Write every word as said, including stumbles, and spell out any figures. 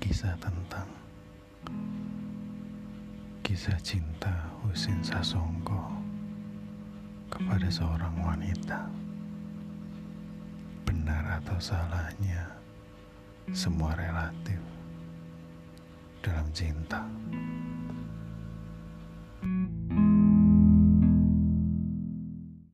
kisah tentang kisah cinta Husin Sasongko kepada seorang wanita. Benar atau salahnya, semua relatif dalam cinta.